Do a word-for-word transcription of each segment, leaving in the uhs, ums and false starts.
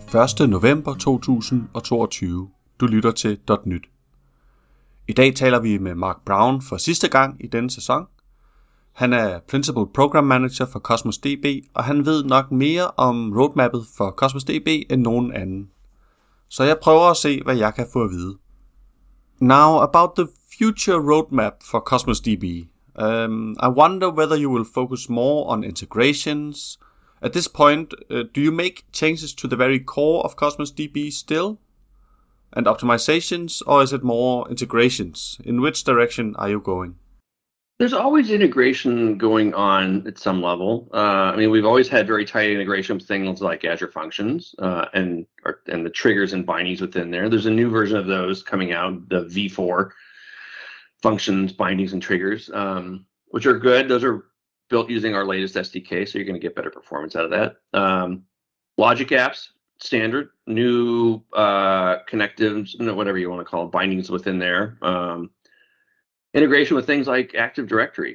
første november to tusind og toogtyve. Du lytter til .nyt. I dag taler vi med Mark Brown for sidste gang i denne sæson. Han er Principal Program Manager for Cosmos D B, og han ved nok mere om roadmappet for Cosmos D B end nogen anden. Så jeg prøver at se, hvad jeg kan få at vide. Now about the future roadmap for Cosmos D B. Um, I wonder whether you will focus more on integrations. At this point, uh, do you make changes to the very core of Cosmos D B still? And optimizations, or is it more integrations? In which direction are you going? There's always integration going on at some level. Uh, I mean, we've always had very tight integration with things like Azure Functions uh, and or, and the triggers and bindings within there. There's a new version of those coming out, the V four functions, bindings, and triggers, um, which are good. Those are built using our latest S D K, so you're going to get better performance out of that. Um, logic apps, standard, new uh, connectives, whatever you want to call it, bindings within there. Um, Integration with things like Active Directory,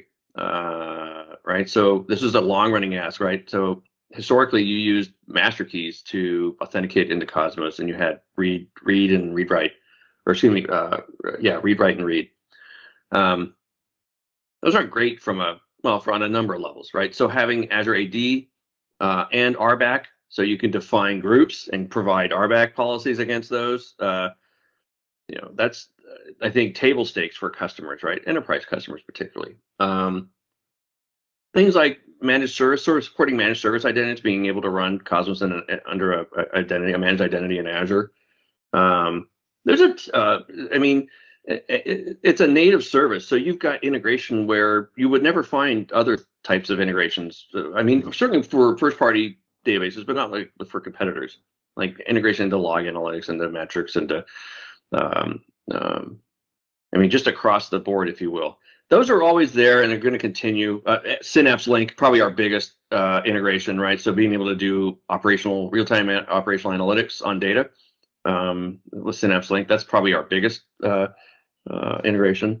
uh, right? So this is a long-running ask, right? So historically, you used master keys to authenticate into Cosmos, and you had read, read, and read write, or excuse me, uh, yeah, read write and read. Um, those aren't great from a well, for on a number of levels, right? So having Azure A D uh, and R B A C, so you can define groups and provide R B A C policies against those. Uh, you know, that's I think table stakes for customers, right? Enterprise customers particularly. Um, things like managed service, sort of supporting managed service identities, being able to run Cosmos in a, under a, a identity, a managed identity in Azure. Um, there's a, uh, I mean, it, it, it's a native service, so you've got integration where you would never find other types of integrations. I mean, certainly for first-party databases, but not like for competitors, like integration into log analytics, into metrics, into um, Um, I mean, just across the board, if you will. Those are always there, and they're going to continue. Uh, Synapse Link, probably our biggest uh, integration, right? So being able to do operational, real-time a- operational analytics on data um, with Synapse Link, that's probably our biggest uh, uh, integration.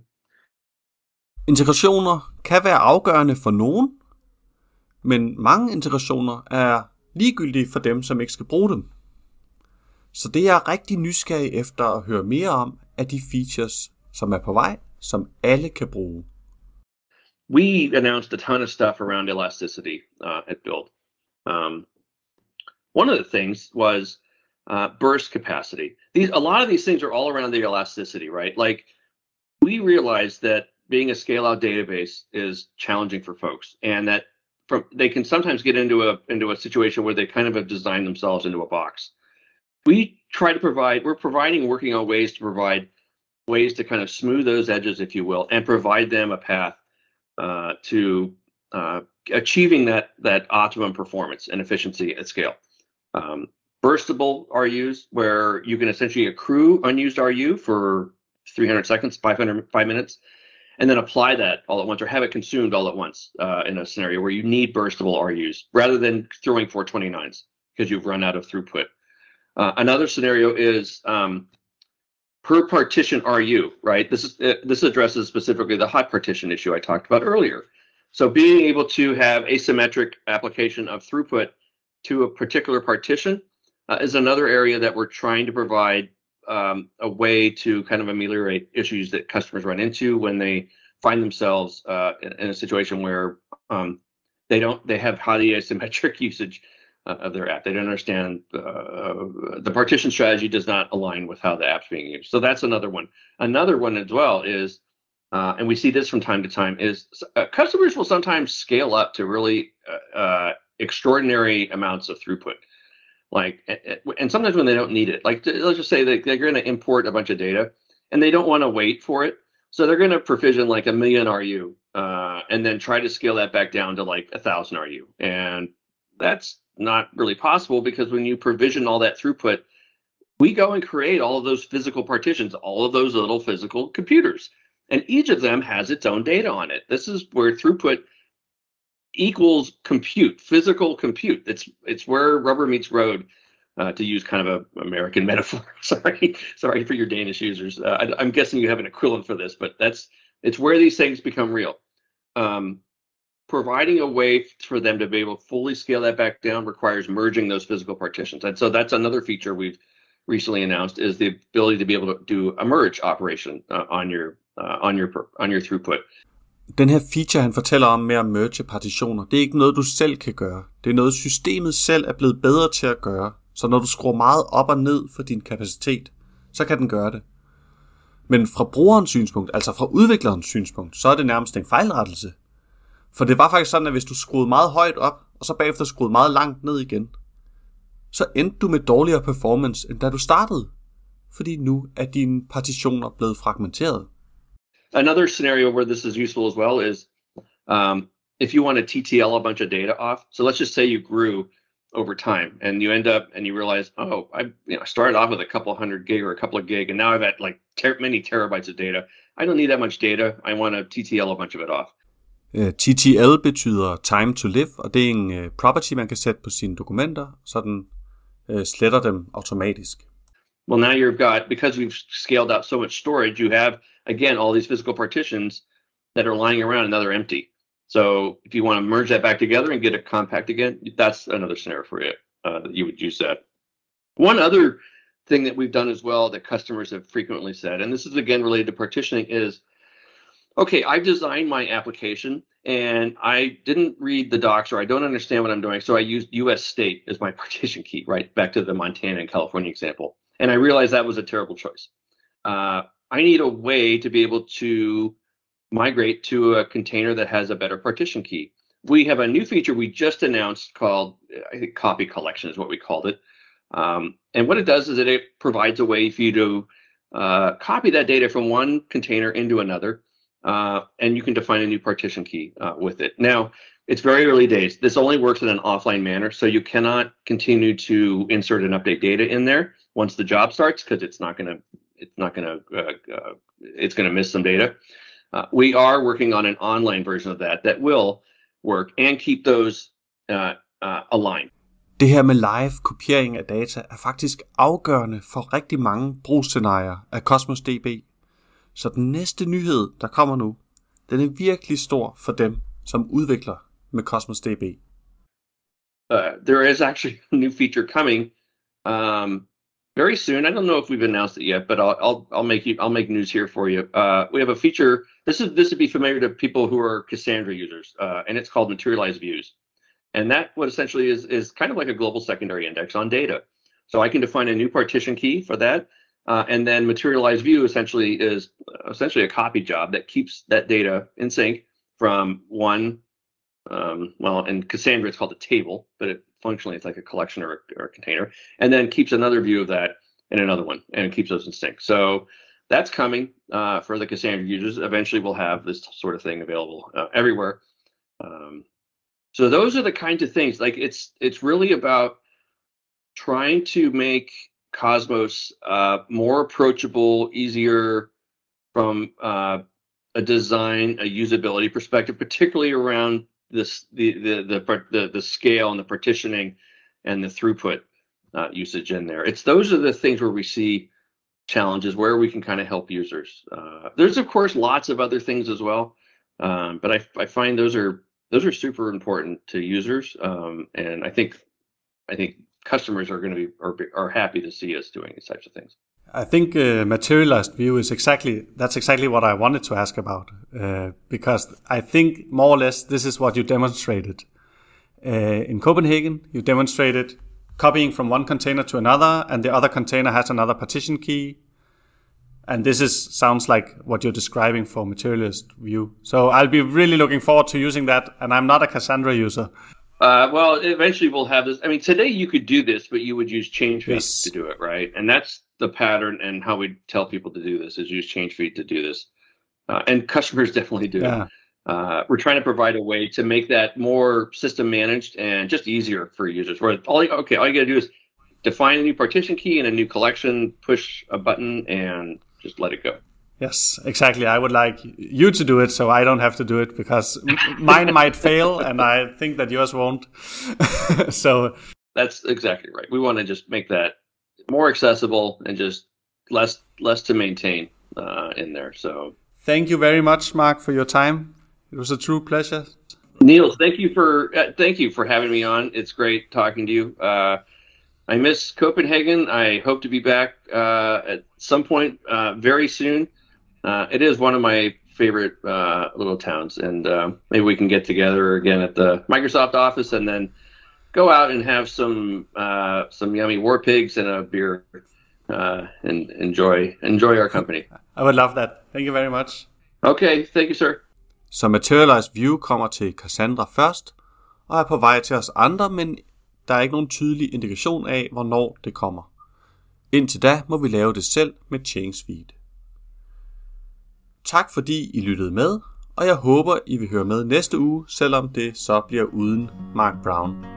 Integrationer kan være afgørende for nogen, men mange integrationer er ligegyldige for dem, som ikke skal bruge dem. Så det er jeg rigtig nysgerrig efter at høre mere om af de features, som er på vej, som alle kan bruge. We announced a ton of stuff around elasticity uh, at Build. Um, one of the things was uh, burst capacity. These, a lot of these things are all around the elasticity, right? Like we realized that being a scale-out database is challenging for folks, and that from, they can sometimes get into a into a situation where they kind of have designed themselves into a box. We try to provide, we're providing, working on ways to provide ways to kind of smooth those edges, if you will, and provide them a path uh, to uh, achieving that that optimum performance and efficiency at scale. Um, burstable R Us, where you can essentially accrue unused R U for three hundred seconds, five hundred, five minutes, and then apply that all at once, or have it consumed all at once uh, in a scenario where you need burstable R Us, rather than throwing four twenty-nines because you've run out of throughput. Uh, another scenario is um, per partition R U, right? This is uh, this addresses specifically the hot partition issue I talked about earlier. So being able to have asymmetric application of throughput to a particular partition uh, is another area that we're trying to provide um, a way to kind of ameliorate issues that customers run into when they find themselves uh, in, in a situation where um, they don't they have highly asymmetric usage of their app. They don't understand uh, the partition strategy does not align with how the app's being used. So that's another one. Another one as well is, uh, and we see this from time to time, is uh, customers will sometimes scale up to really uh, uh, extraordinary amounts of throughput. Like, and sometimes when they don't need it, like let's just say that they're going to import a bunch of data and they don't want to wait for it. So they're going to provision like a million R U uh, and then try to scale that back down to like a thousand R U. And that's not really possible, because when you provision all that throughput, we go and create all of those physical partitions, all of those little physical computers, and each of them has its own data on it. This is where throughput equals compute, physical compute. It's it's where rubber meets road, uh, to use kind of a American metaphor. sorry, sorry for your Danish users. Uh, I, I'm guessing you have an equivalent for this, but that's it's where these things become real. Um, providing a way for them to be able to fully scale that back down requires merging those physical partitions. And so that's another feature we've recently announced, is the ability to be able to do a merge operation uh, on your uh, on your on your throughput. Den her feature, han fortæller om med at merge partitioner, det er ikke noget, du selv kan gøre. Det er noget, systemet selv er blevet bedre til at gøre. Så når du skruer meget op og ned for din kapacitet, så kan den gøre det. Men fra brugerens synspunkt, altså fra udviklerens synspunkt, så er det nærmest en fejlrettelse. For det var faktisk sådan, at hvis du skruede meget højt op, og så bagefter skruede meget langt ned igen, så endte du med dårligere performance, end da du startede. Fordi nu er dine partitioner blevet fragmenteret. Another scenario where this is useful as well is um, if you want to T T L a bunch of data off. So let's just say you grew over time and you end up and you realize, oh, I you know, started off with a couple hundred gig or a couple of gig, and now I've got like ter- many terabytes of data. I don't need that much data. I want to T T L a bunch of it off. Uh, T T L betyder time to live, og det er en uh, property, man kan sætte på sine dokumenter, så den uh, sletter dem automatisk. Well, now you've got, because we've scaled out so much storage, you have, again, all these physical partitions that are lying around and now they're empty. So if you want to merge that back together and get it compact again, that's another scenario for you. Uh, that you would use that. One other thing that we've done as well that customers have frequently said, and this is again related to partitioning, is, okay, I've designed my application and I didn't read the docs, or I don't understand what I'm doing, so I used U S state as my partition key, right? Back to the Montana and California example. And I realized that was a terrible choice. Uh, I need a way to be able to migrate to a container that has a better partition key. We have a new feature we just announced called, I think, copy collection is what we called it. Um, and what it does is that it provides a way for you to uh, copy that data from one container into another, uh, and you can define a new partition key uh, with it. Now, it's very early days. This only works in an offline manner, so you cannot continue to insert and update data in there once the job starts, because it's not going to, it's not going to, uh, uh, it's going to miss some data. Uh, we are working on an online version of that that will work and keep those uh, uh, aligned. Det her med live kopiering af data er faktisk afgørende for rigtig mange brugsscenarier af Cosmos D B. Så den næste nyhed, der kommer nu, den er virkelig stor for dem, som udvikler med Cosmos D B. Uh, there is actually a new feature coming um, very soon. I don't know if we've announced it yet, but I'll I'll, I'll make you I'll make news here for you. Uh, we have a feature. This is this would be familiar to people who are Cassandra users, uh, and it's called Materialized Views. And that what essentially is is kind of like a global secondary index on data. So I can define a new partition key for that, uh, and then Materialized View essentially is essentially a copy job that keeps that data in sync from one. Um, well, in Cassandra it's called a table, but it, functionally it's like a collection or a, or a container, and then keeps another view of that in another one, and it keeps those in sync. So that's coming uh, for the Cassandra users. Eventually, we'll have this sort of thing available uh, everywhere. Um, so those are the kinds of things. Like it's it's really about trying to make Cosmos uh, more approachable, easier from uh, a design, a usability perspective, particularly around this the the the the, the scale and the partitioning and the throughput uh, usage in there. It's those are the things where we see challenges, where we can kind of help users. Uh, there's of course lots of other things as well, um, but I I find those are those are super important to users, um, and I think I think customers are going to be are, are happy to see us doing these types of things. I think uh, materialized view is exactly, that's exactly what I wanted to ask about, uh, because I think more or less this is what you demonstrated. Uh, in Copenhagen, you demonstrated copying from one container to another, and the other container has another partition key. And this is sounds like what you're describing for materialized view. So I'll be really looking forward to using that, and I'm not a Cassandra user. Uh, well, eventually we'll have this. I mean, today you could do this, but you would use change feed Yes. to do it, right? And that's the pattern, and how we tell people to do this is use change feed to do this. Uh, and customers definitely do. Yeah. Uh, we're trying to provide a way to make that more system managed and just easier for users. Where all you, okay, all you got to do is define a new partition key and a new collection, push a button, and just let it go. Yes, exactly. I would like you to do it so I don't have to do it, because m- mine might fail and I think that yours won't. So that's exactly right. We want to just make that more accessible and just less less to maintain uh, in there. So thank you very much, Mark, for your time. It was a true pleasure. Neil, thank you for uh, thank you for having me on. It's great talking to you. Uh, I miss Copenhagen. I hope to be back uh, at some point uh, very soon. Uh, it is one of my favorite uh, little towns, and uh, maybe we can get together again at the Microsoft office, and then go out and have some uh, some yummy war pigs and a beer, uh, and enjoy enjoy our company. I would love that. Thank you very much. Okay, thank you, sir. Så Materialize View kommer til Cassandra først, og er på vej til os andre, men der er ikke nogen tydelig indikation af, hvornår det kommer. Indtil da må vi lave det selv med ChangeSuite. Tak fordi I lyttede med, og jeg håber I vil høre med næste uge, selvom det så bliver uden Mark Brown.